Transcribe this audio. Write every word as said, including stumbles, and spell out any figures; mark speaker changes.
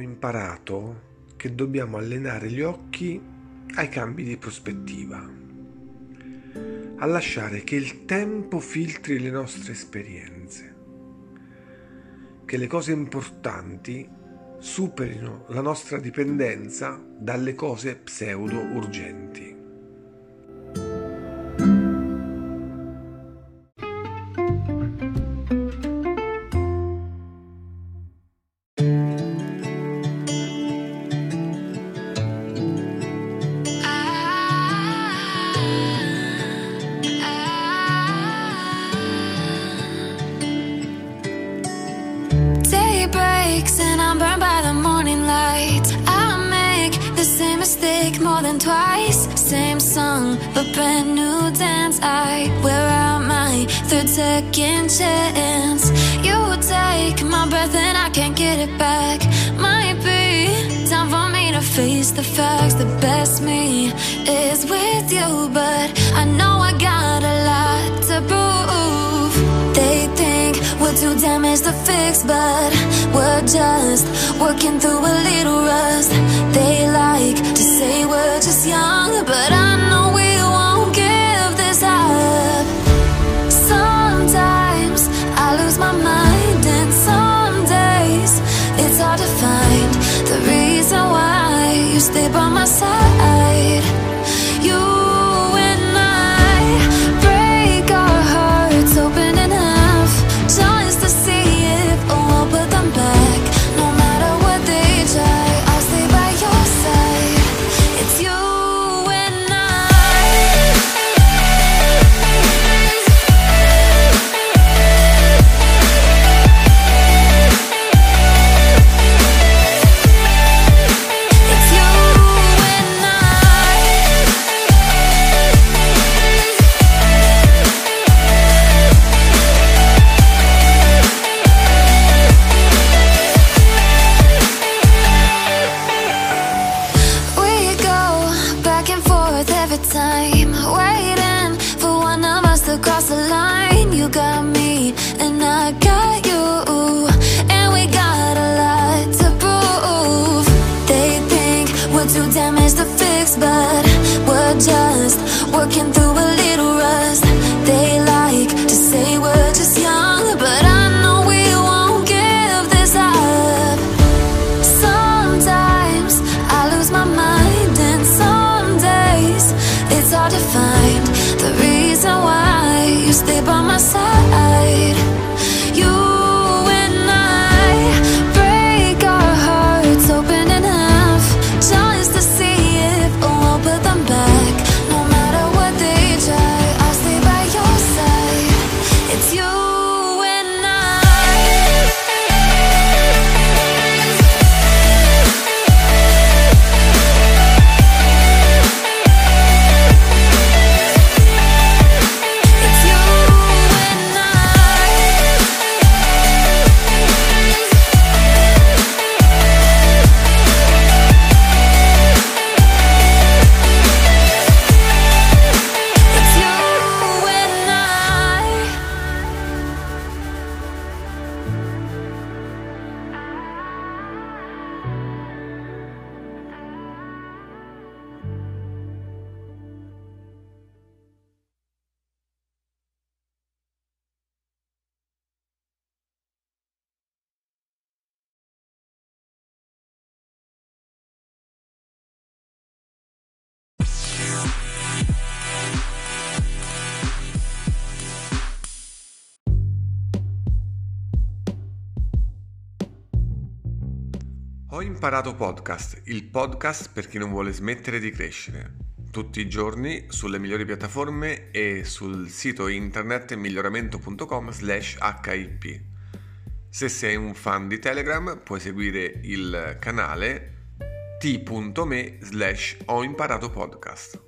Speaker 1: imparato che dobbiamo allenare gli occhi ai cambi di prospettiva, a lasciare che il tempo filtri le nostre esperienze, che le cose importanti superino la nostra dipendenza dalle cose pseudo urgenti.
Speaker 2: And I'm burned by the morning light. I make the same mistake more than twice. Same song, but brand new dance. I wear out my third second chance. You take my breath and I can't get it back. Might be time for me to face the facts. The best me is with you, but I know I got a lot to prove. They think we're too damaged to fix, but we're just working through a little rust. They like to say we're just young, but I know we won't give this up. Sometimes I lose my mind, and some days it's hard to find the reason why you stay by my side. You time, waiting for one of us to cross the line. You got me and I got you, and we got a lot to prove. They think we're too damaged to fix, but we're just working through a little rust. They like to say we're just young, but I know we won't give this up. Sometimes I lose my mind, and some days it's hard to find the reason why you stay by my side. You and I break our hearts open enough just to see if we'll put them back. No matter what they try, I'll stay by your side. It's you and I.
Speaker 1: Ho imparato podcast, il podcast per chi non vuole smettere di crescere. Tutti i giorni sulle migliori piattaforme e sul sito internet miglioramento punto com slash hip. Se sei un fan di Telegram puoi seguire il canale t punto me slash ho imparato podcast.